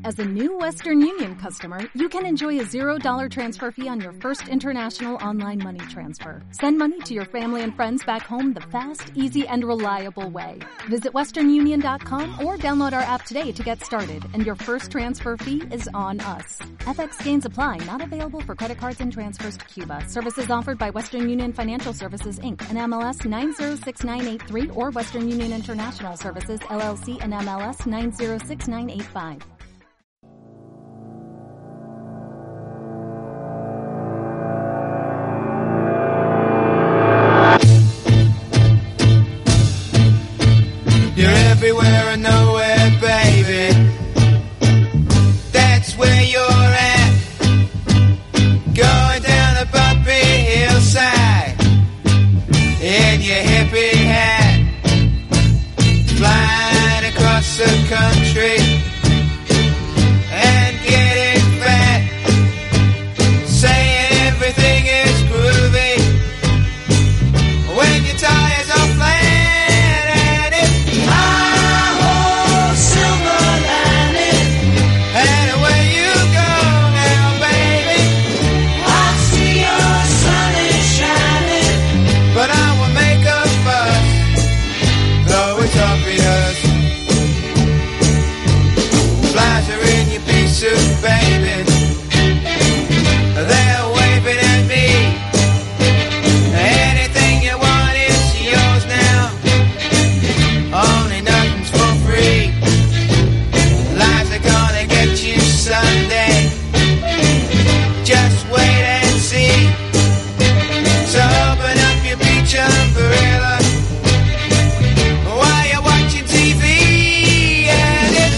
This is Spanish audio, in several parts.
As a new Western Union customer, you can enjoy a $0 transfer fee on your first international online money transfer. Send money to your family and friends back home the fast, easy, and reliable way. Visit westernunion.com or download our app today to get started, and your first transfer fee is on us. FX gains apply, not available for credit cards and transfers to Cuba. Services offered by Western Union Financial Services, Inc., and MLS 906983, or Western Union International Services, LLC, and MLS 906985. Everywhere and nowhere, baby. That's where you're at. Going down the bumpy hillside in your hippie hat, flying across the country and getting fat, saying everything is groovy when your tires are flat. Baby, they're waving at me. Anything you want is yours now. Only nothing's for free. Lives are gonna get you someday. Just wait and see. So open up your beach umbrella while you're watching TV. And it's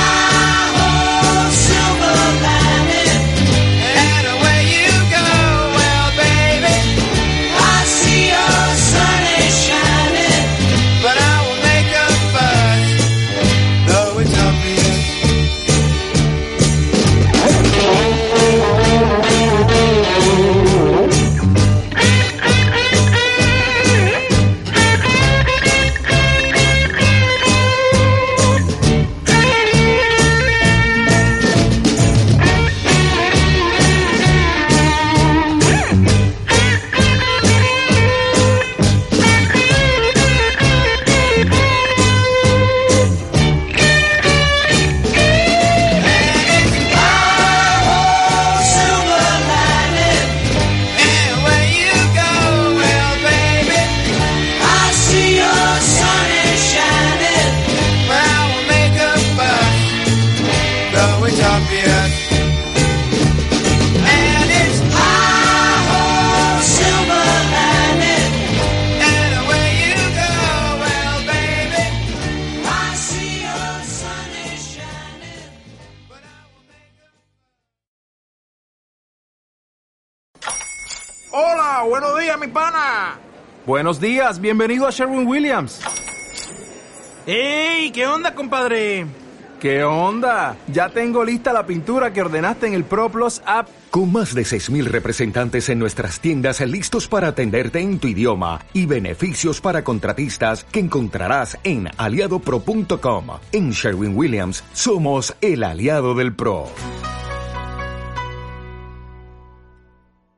Hola, buenos días, mi pana. Buenos días, bienvenido a Sherwin-Williams. ¡Ey! ¿Qué onda, compadre? ¿Qué onda? Ya tengo lista la pintura que ordenaste en el ProPlus app. Con más de 6,000 representantes en nuestras tiendas listos para atenderte en tu idioma y beneficios para contratistas que encontrarás en aliadopro.com. En Sherwin-Williams somos el aliado del pro.